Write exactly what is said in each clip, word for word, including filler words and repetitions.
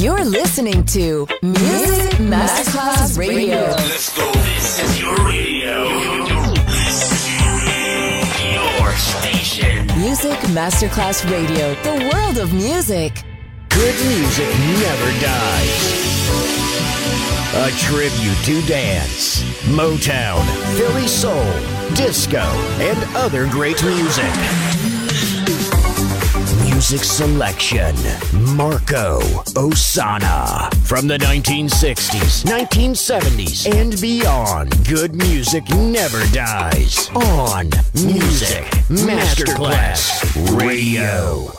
You're listening to Music Masterclass Radio. Let's go. This is your radio. Your station. Music Masterclass Radio. The world of music. Good music never dies. A tribute to dance, Motown, Philly soul, disco, and other great music. Music selection, Marco Ossanna. From the nineteen sixties, nineteen seventies, and beyond, good music never dies. On Music Masterclass Radio.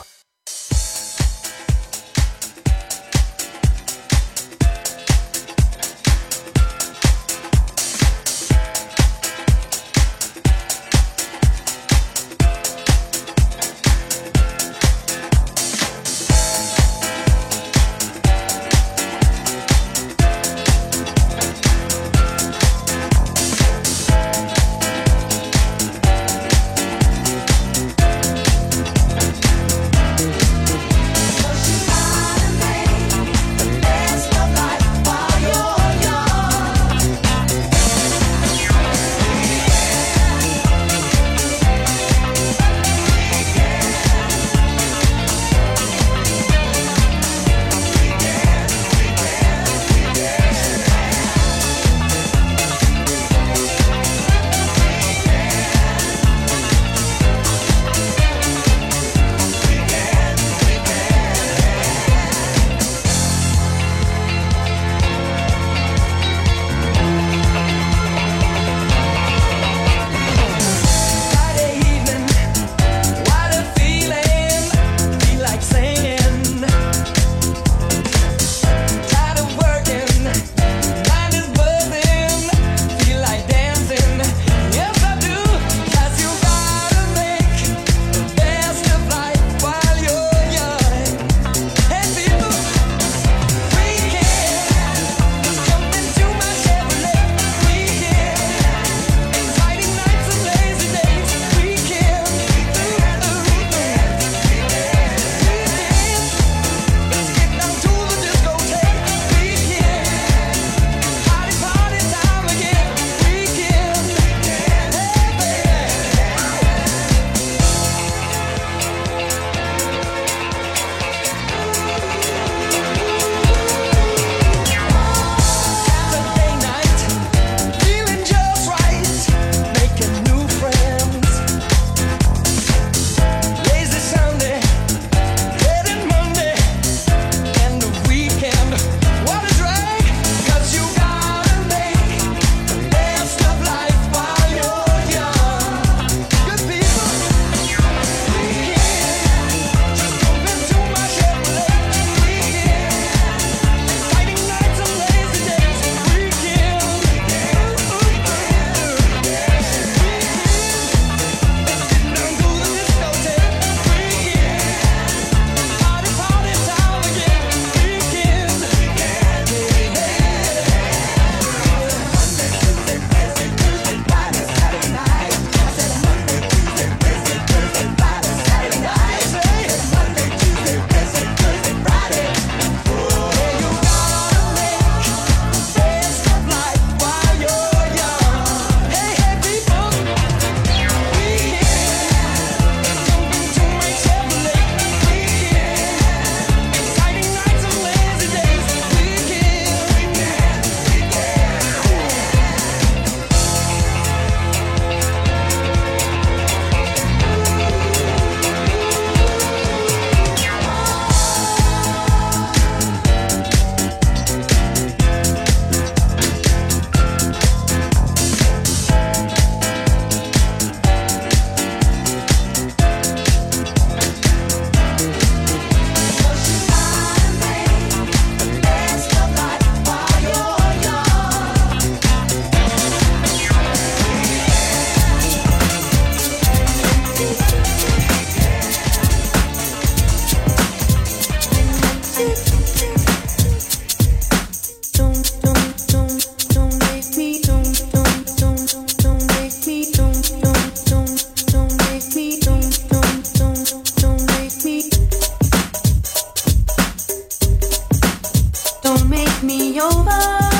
me over.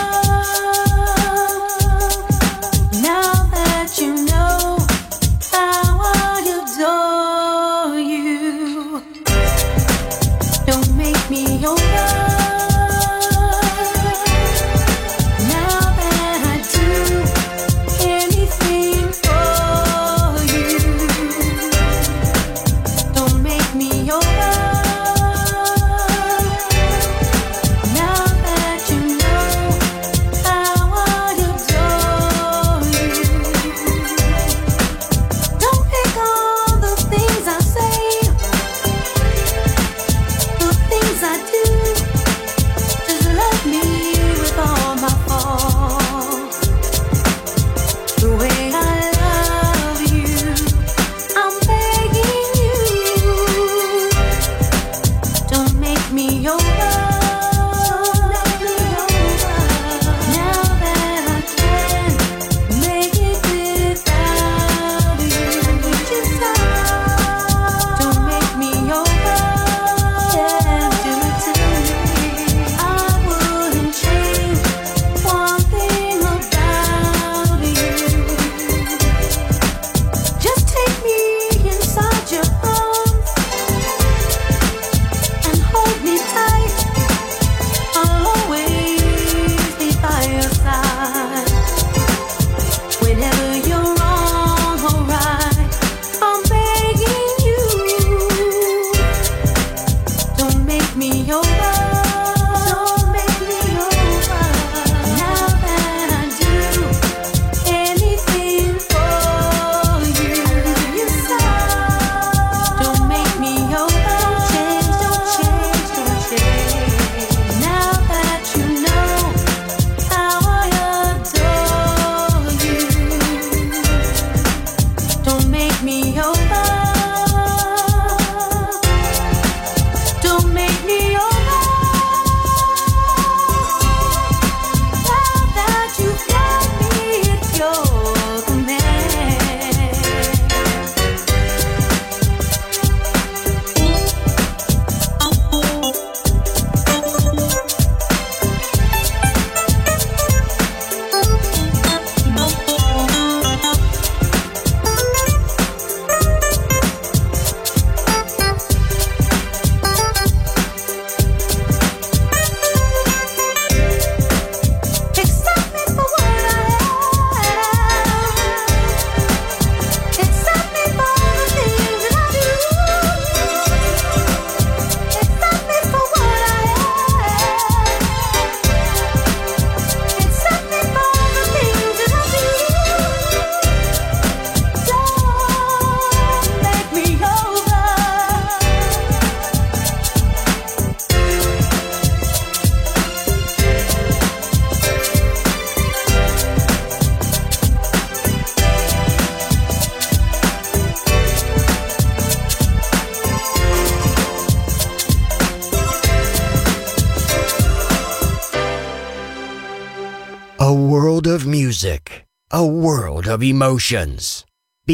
Now that you know how I adore you, don't make me over. Of music, a world of emotions,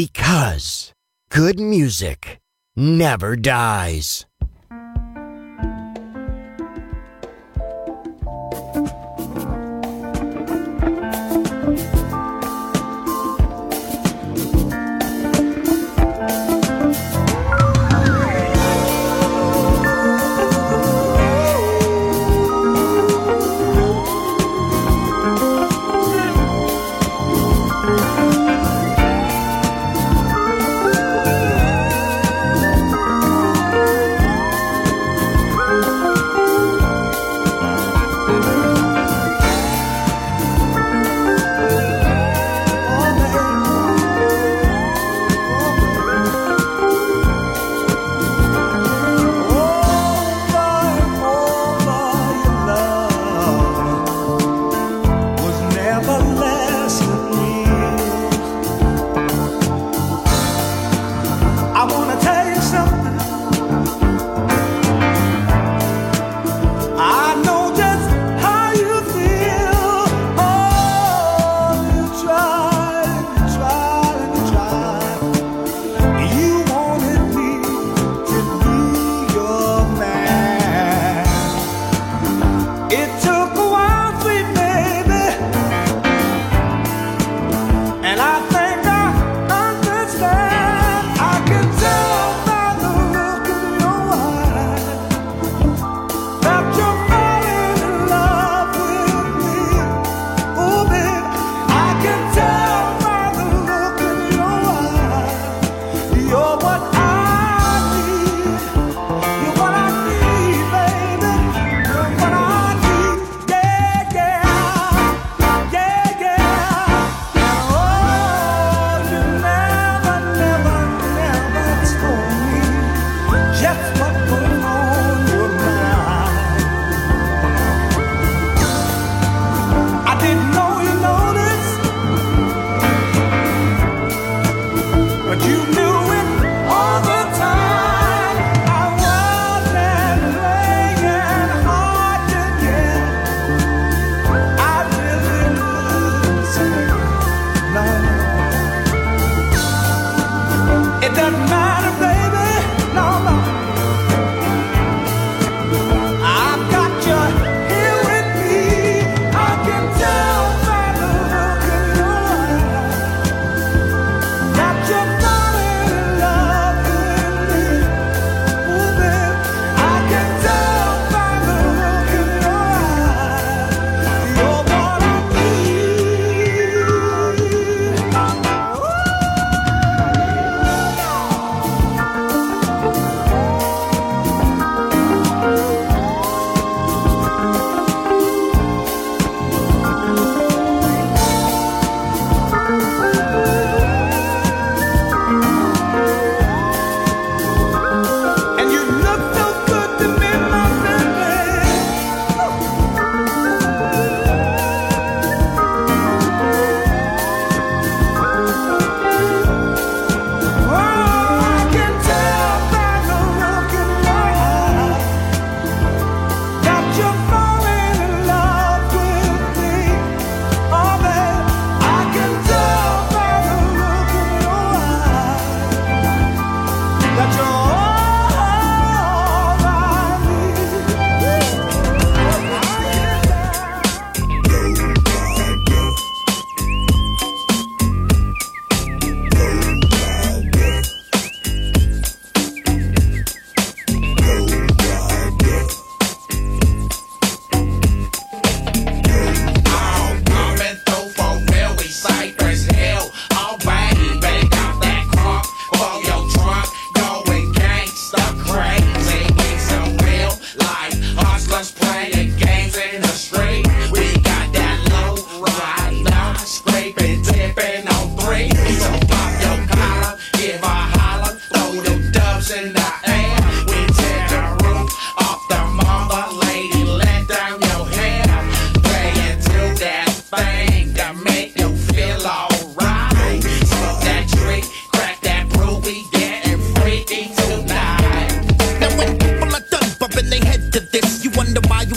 because good music never dies. Oh,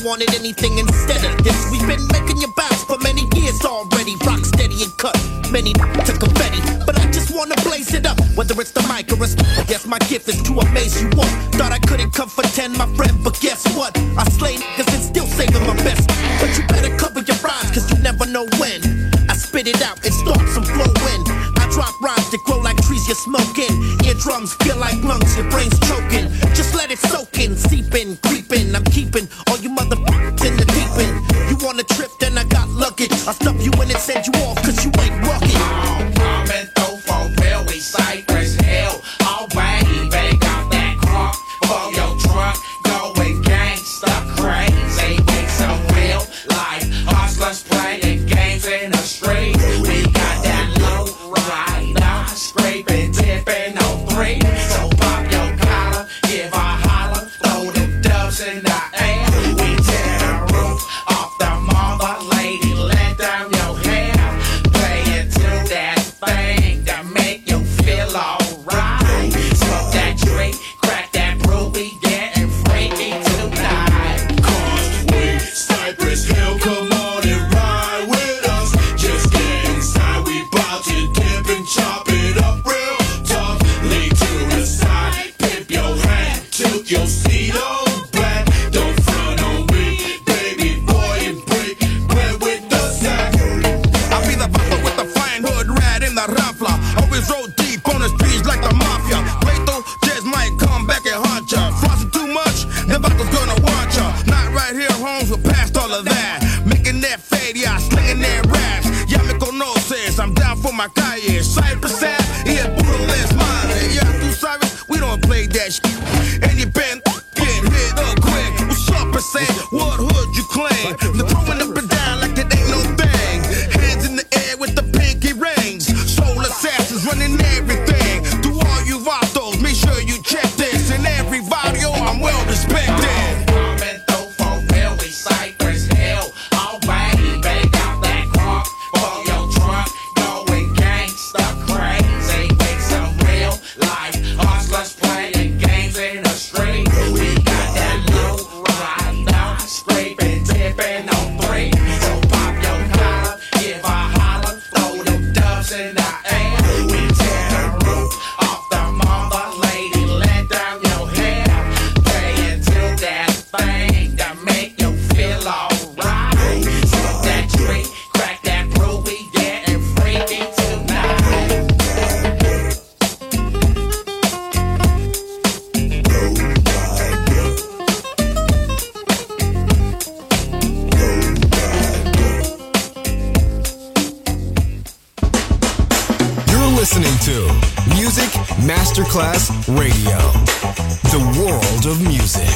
wanted anything instead of this. We've been making you bounce for many years already. Rock steady and cut many to confetti, but I just wanna blaze it up. Whether it's the mic or it's, I guess my gift is to amaze you all. Thought I couldn't come for ten, my friend, but guess what? I slay niggas and still saving my best. But you better cover your rhymes, cause you never know when I spit it out and start some flow in. I drop rhymes that grow like trees you're smoking. Eardrums feel like lungs, your brain's choking. Just let it soak in, seep in, creep in. I'm keeping all you motherfuckers in the deep end. You want a trip, then I got luggage. I'll stuff you in and send you off, cause you ain't rugged. I'm coming through for real, we Cypress Hill. Alright, baby, got that crunk for your trunk. Going gangsta crazy, make some real life hustlers playing games in the street. We got that low rider, scraping, tipping on three. So pop your collar, give a holler, throw them dubs in the air. We tear the roof off the mother lady, let down your hair. Play into that thing that make you feel alright. Smoke that drink, crack that brew, we getting freaky tonight. Cause we Cypress Hill, come on and ride with us. Just get inside, we bout to dip and chop it up real tough. Lay to the side, pimp your hat, tilt your seat on back. Don't front on me, baby boy, and break bread with the sack. I be the papa with the fine hood rat in the raffla. Always roll deep on the streets like the mafia. Plato just might come back and haunt ya. Flossing too much, the bottle's gonna watch ya. Not right here, Holmes, we're past all of that. Making that fade, yeah, slinging that raps. Ya me conoces, I'm down for my calle. Cypress Ave, y el puro desmadre. Ya tú sabes, we don't play that shit. And you been get hit up quick. What's up, percent? What hood you claim? They're throwing up and down like it ain't no thing. Hands in the air with the pinky rings. Soul assassins running everything. To all you vatos, make sure you check this. In every video, I'm well respected. Coming through for real, we Cypress Hill. Alright, baby, got that crunk for your trunk. Going gangsta crazy, make some real life hustlers playing games in the street. We got that low rider, scraping, tipping on three. So pop your collar, give a holler, throw them dubs in the air. We tear the roof off the mother lady, let down your hair. Play into that thing that make you feel alright. Smoke that drink, crack that brew, we getting freaky tonight. You're listening to Music Masterclass Radio, the world of music.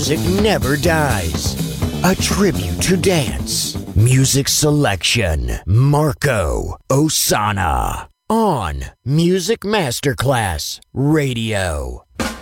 music never dies. A tribute to dance. Music selection. Marco Ossanna. On Music Masterclass Radio.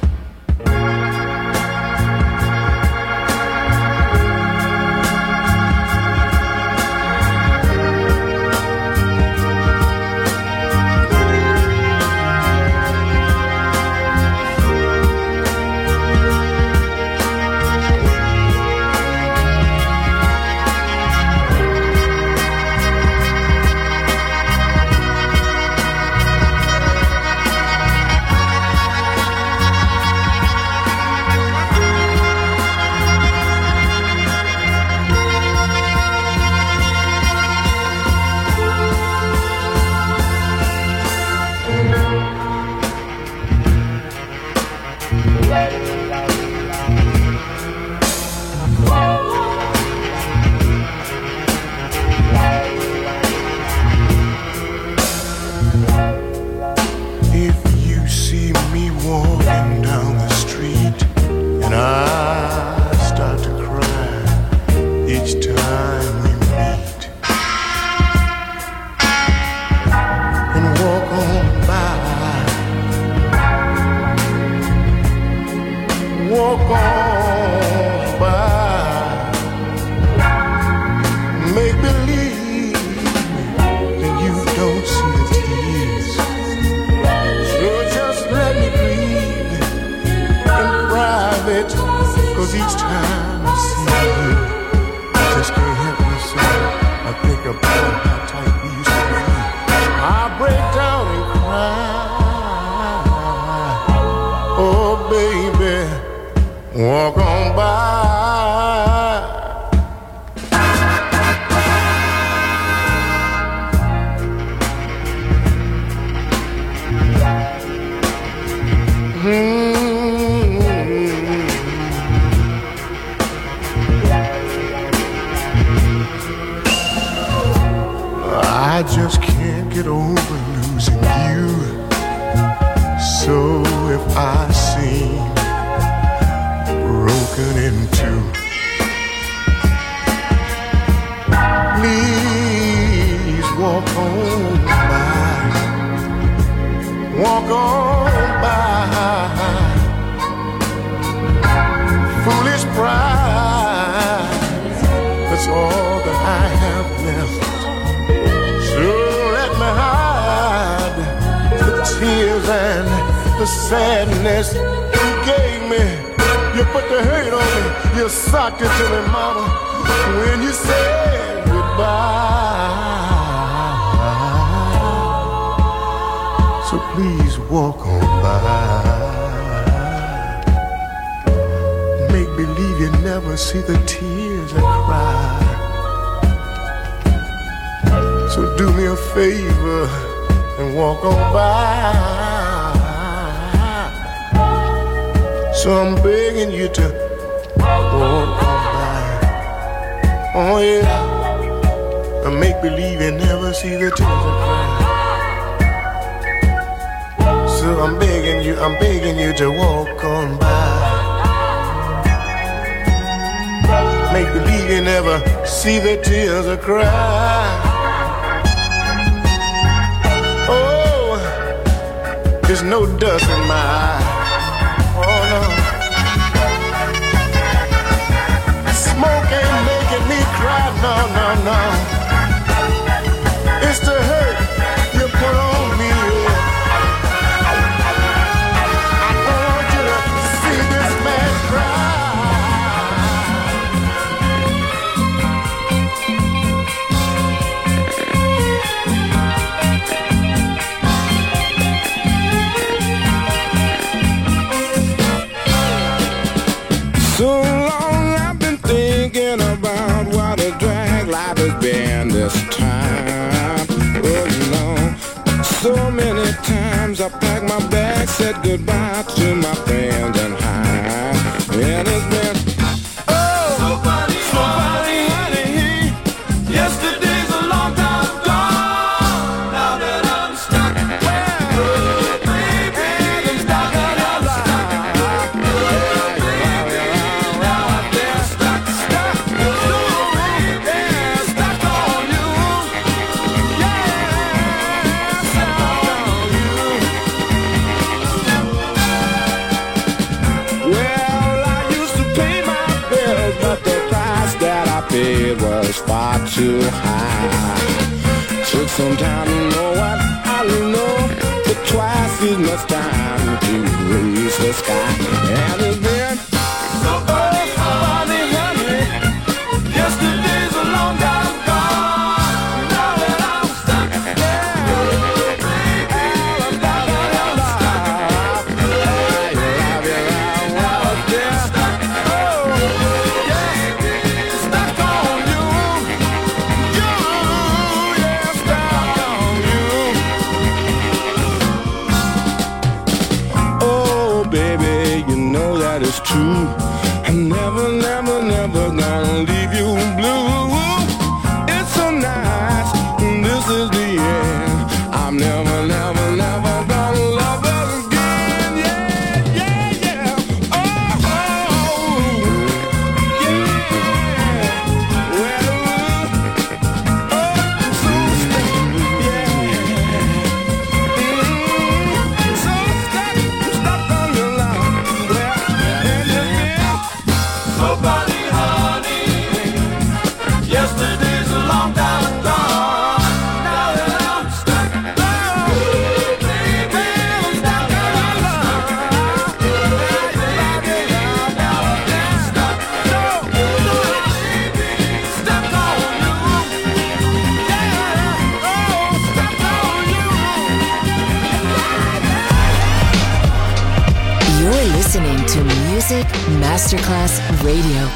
Yesterday's a long time gone. Now that I'm stuck where, baby, stuck in your life. was far too high. Took some time to know what I know, but twice as much time to reach the sky. And it's been so funny, funny, honey. Yesterday's a long time gone. Now that I'm stuck there, true. I'm never, never, never gonna leave you blue. It's so nice, this is the end. I'm never, never, never gonna love her again. Yeah, yeah, yeah. Oh, oh, yeah. Well, oh, so stuck, yeah. Mm, so stuck, stuck on your love. Nobody, honey. Yesterday's a long time gone. Now that I'm stuck, oh, baby, I'm stuck on your love. Now I'm stuck, no, no, baby, stuck on you. Yeah, oh, stuck on you. You're listening to Music Masterclass Radio.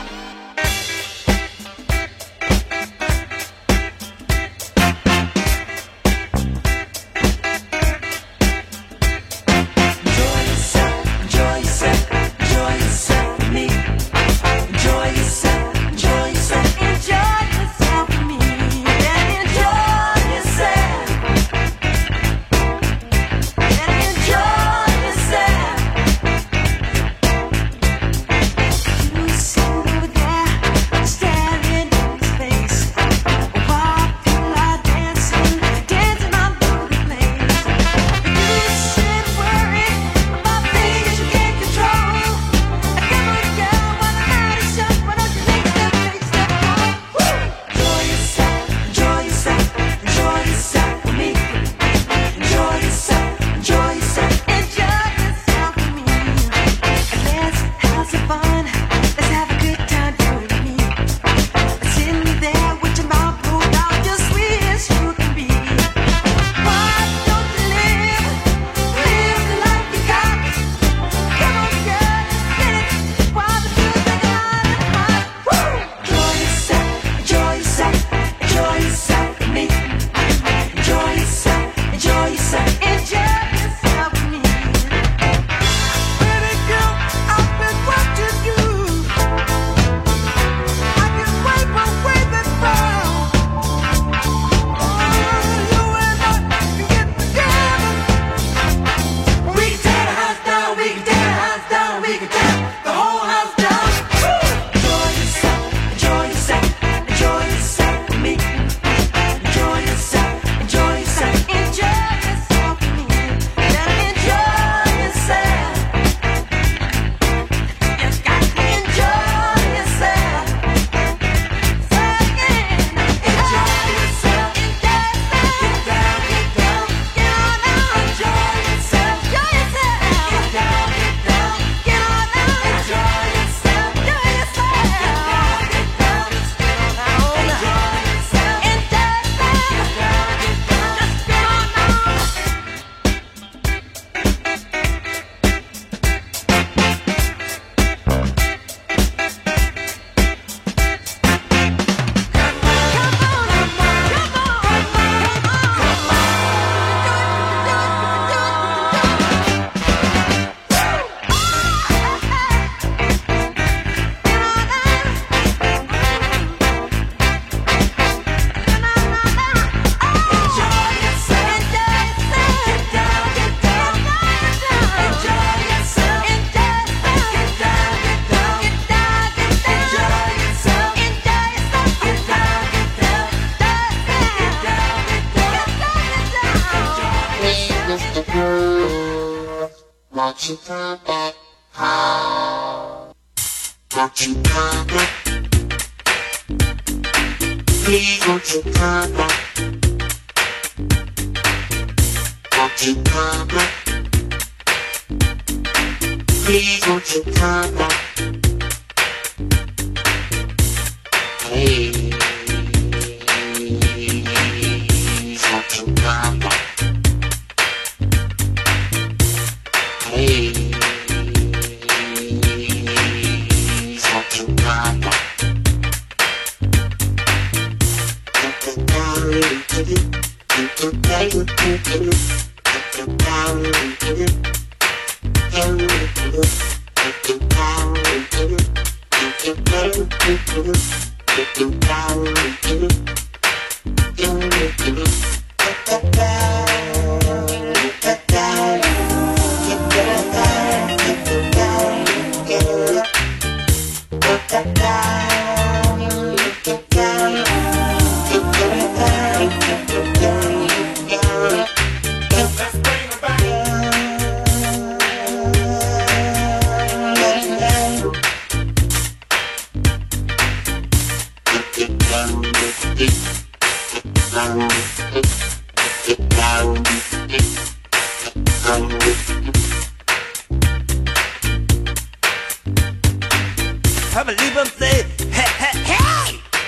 What you got that how? What you got that? Please won't you come back? Won't you come back? Please won't you come back? Please won't you come back? Please won't you come back? Have a leave and say, hey, hey, hey!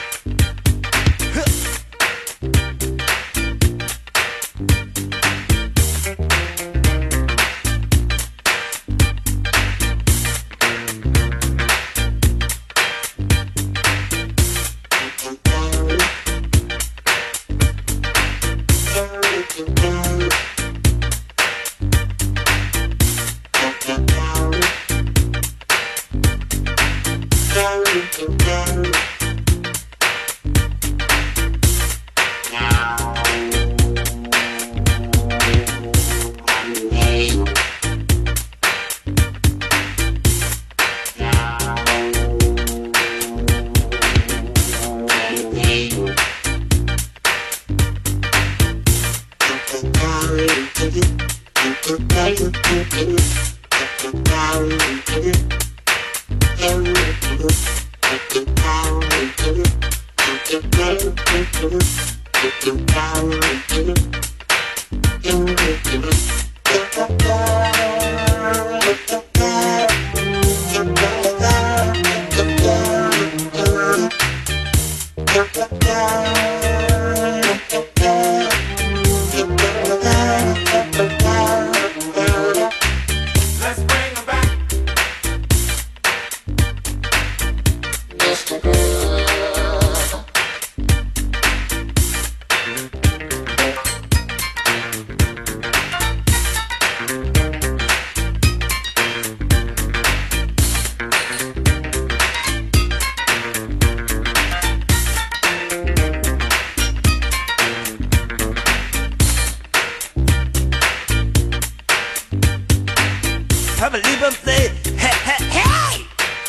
Have a leave and say, hey, hey, hey!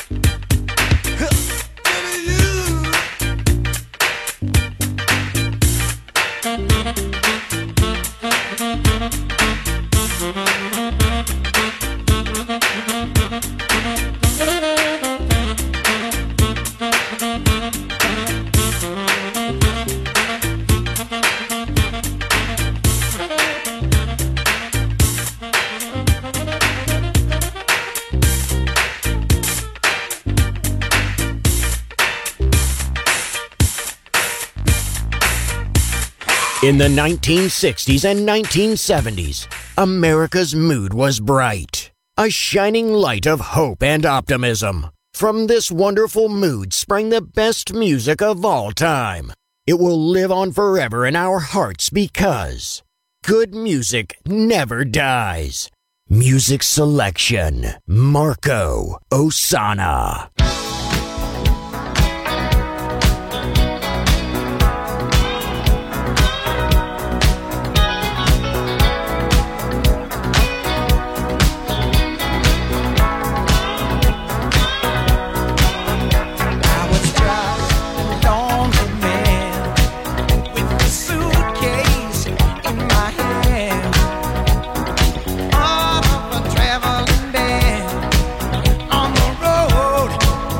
In the nineteen sixties and nineteen seventies, America's mood was bright, a shining light of hope and optimism. From this wonderful mood sprang the best music of all time. It will live on forever in our hearts because good music never dies. Music selection, Marco Ossanna. On the road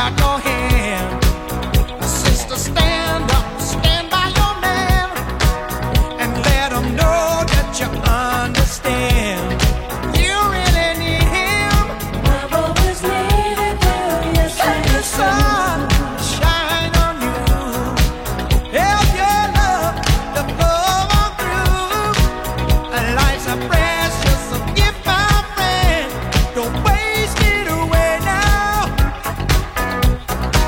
out your hand. Sister, stand up, stand by your man, and let him know that you understand. You really need him. I've always needed you, yes I do. Sun shine on you, help your love to flow on through. And life's a precious gift, my friend. Don't waste it away now.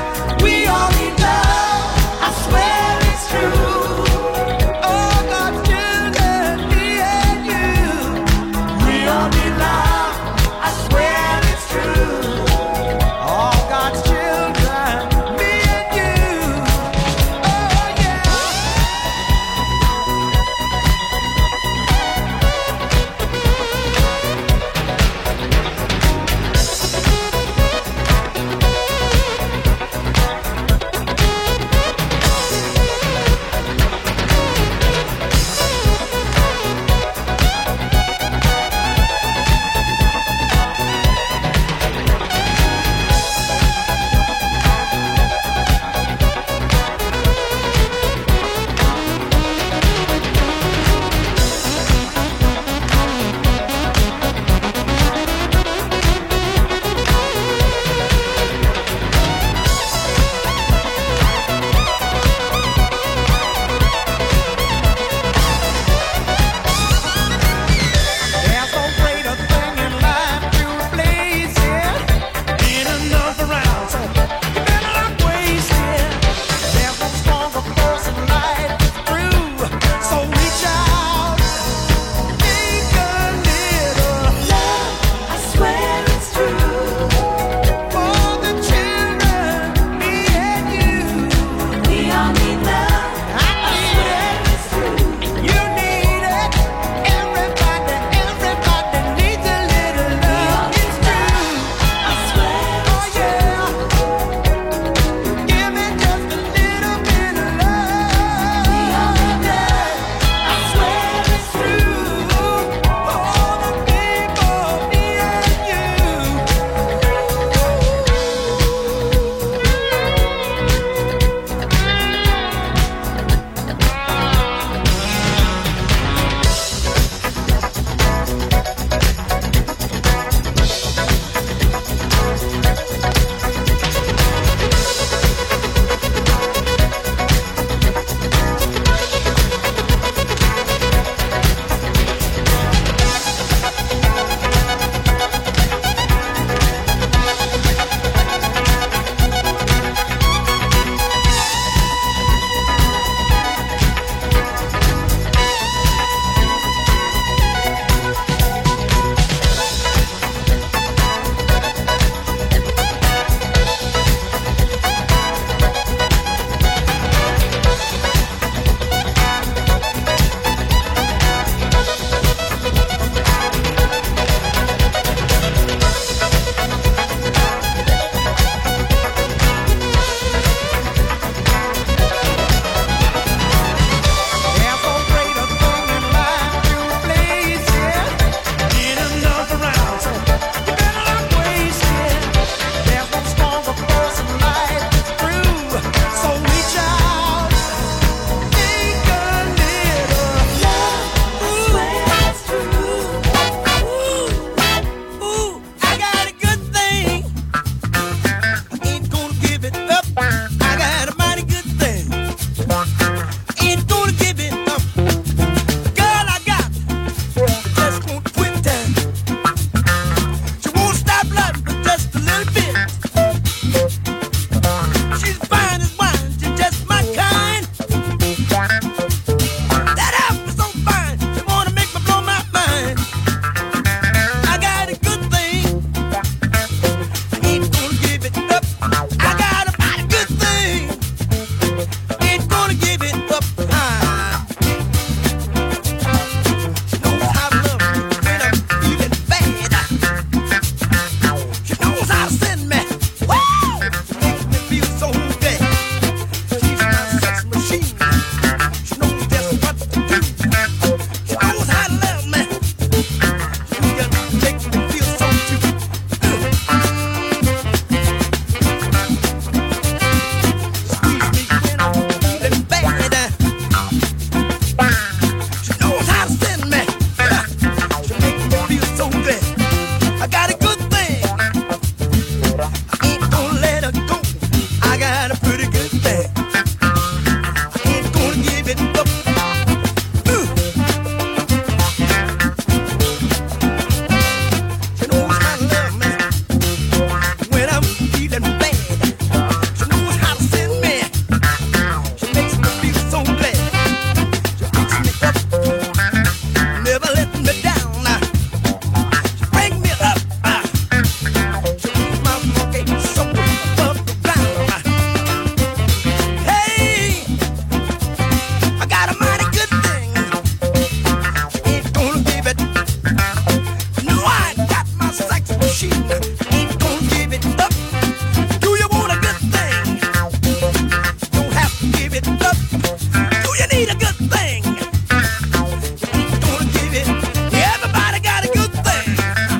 ain't gonna give it up. Do you want a good thing? Don't have to give it up. Do you need a good thing? Ain't gonna give it. Everybody got a good thing.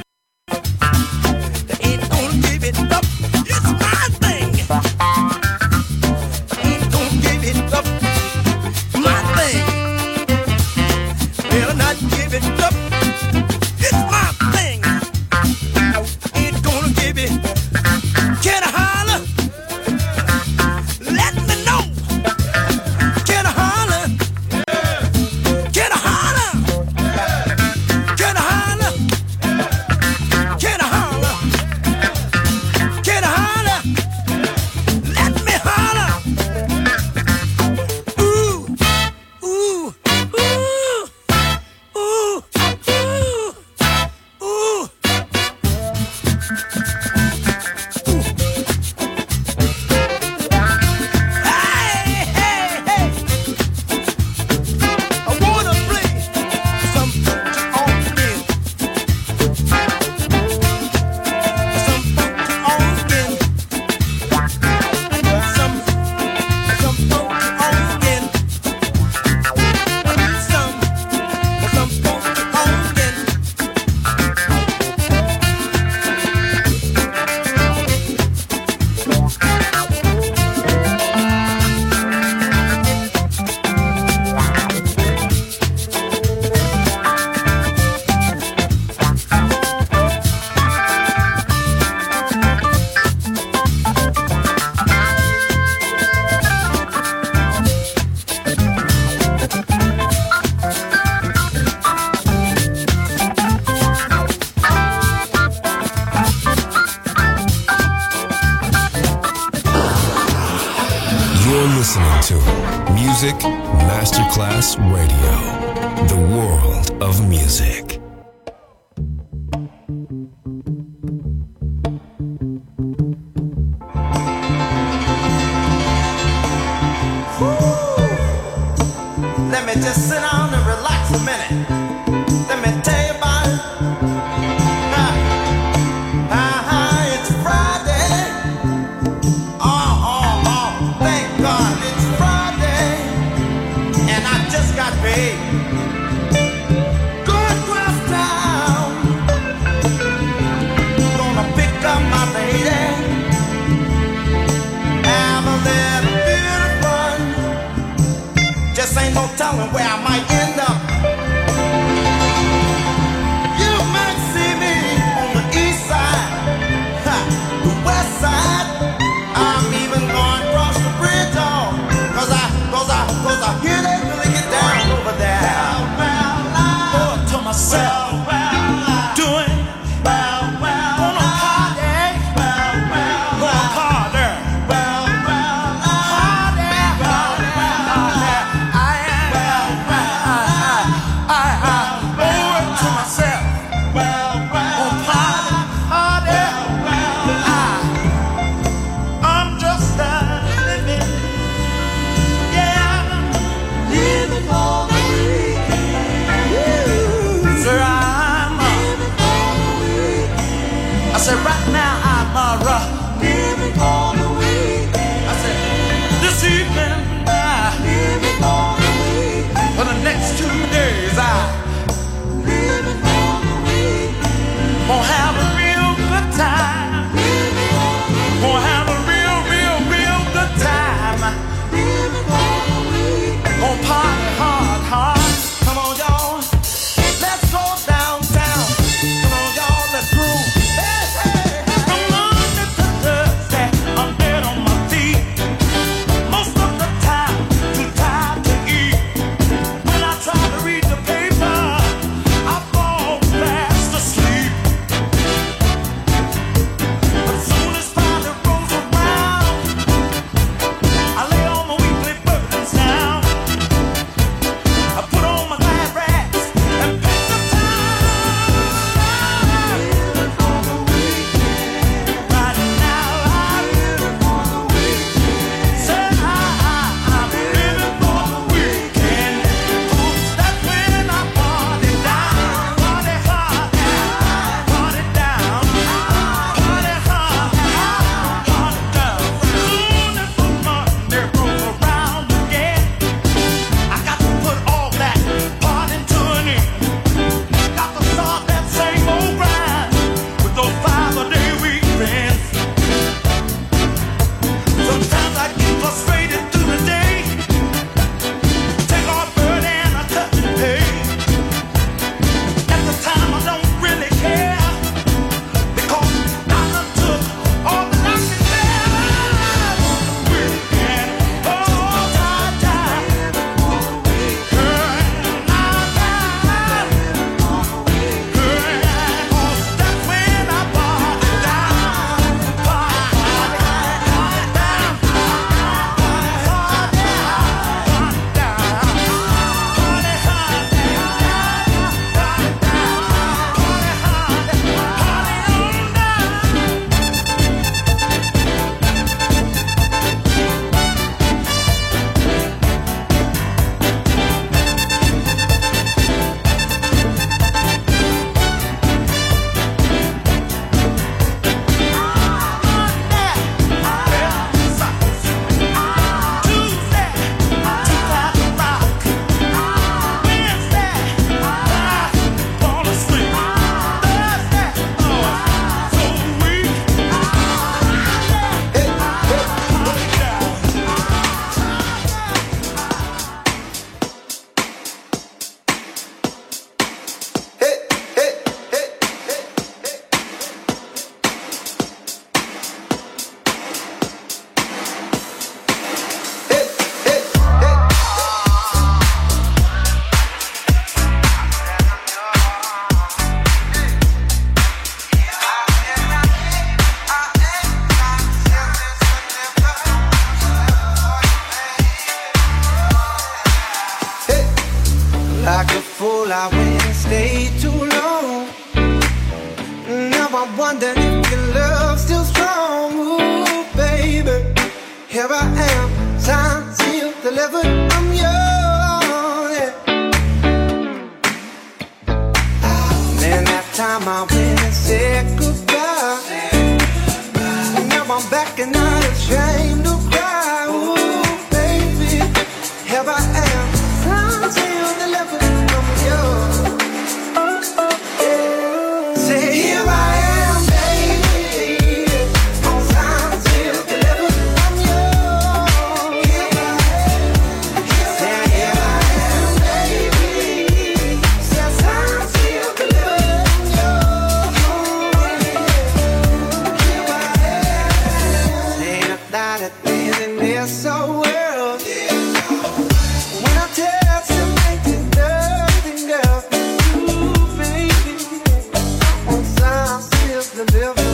They ain't gonna give it up. It's my thing. Ain't gonna give it up. My thing. Better not give it up. It's my thing. Ain't gonna give it. Can I holler? Let me know. Can I holler? Can I holler? Can I holler? Can I holler? Can I holler? Let me holler. Ooh, ooh, ooh, ooh, ooh, ooh. Hey, hey, hey. I wanna play some funky organ. Some funky organ. Some, some funky organ. Some, some funky organ. You're listening to Music Masterclass Radio, the world of music. Let me just sit down and relax a minute. Let me tell you about it. Ah, ah, ah, it's Friday. Oh, oh, oh, thank God it's Friday. And I just got paid. Going across town. Gonna pick up my lady. Have a little bit of fun. Just ain't no telling where I might end up. You might see me on the east side, ha, the west side. I'm even going across the bridge, oh, cause I, cause I, cause I hear they really get down over there. Lord, to myself, doing, gonna party, gonna party. I said, right now I'm uh, rough. Living on the weekend. I said, this evening, I living on the weekend. For the next two days, I living on the weekend. Gonna have a real good time. Living on the weekend. Gonna have a real, real, real good time. Living on the weekend. Gonna party hard, hard. Come on, y'all. Let's go downtown. Come on, y'all. Let's groove. Hey, hey, hey. From Monday to Thursday, I'm I'm back and not ashamed to cry. Ooh, baby, here I am, trying to deliver from you. Say, here I am, baby, on time to deliver from you. Here I am, say, here I am, baby, say, time to deliver from you. That things in this so world. When I tell you make it nothing else but you, baby, on time still deliver.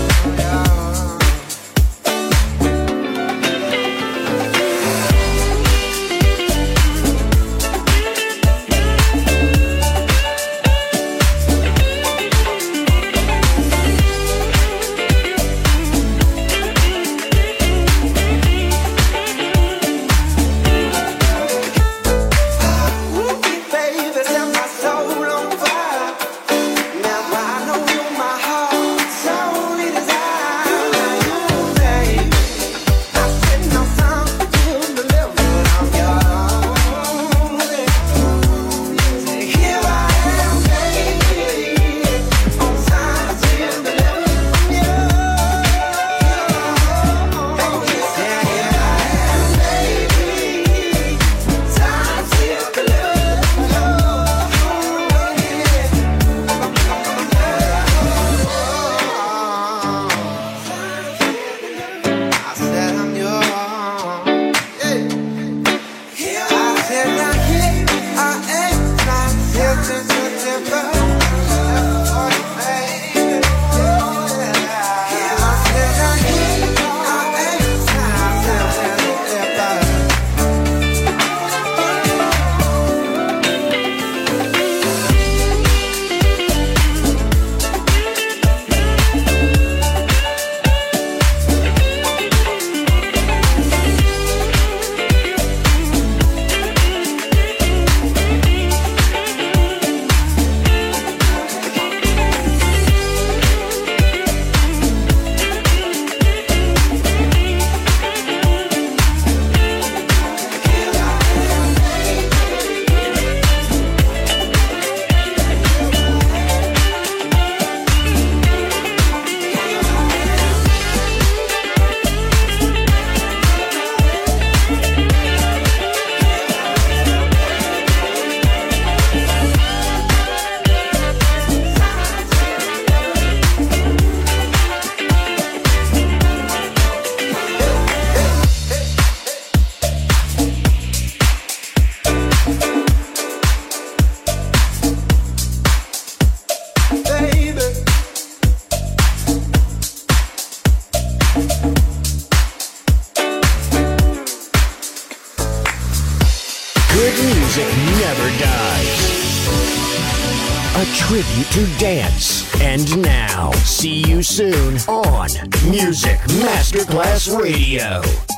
Tribute to dance. And now, see you soon on Music Masterclass Radio.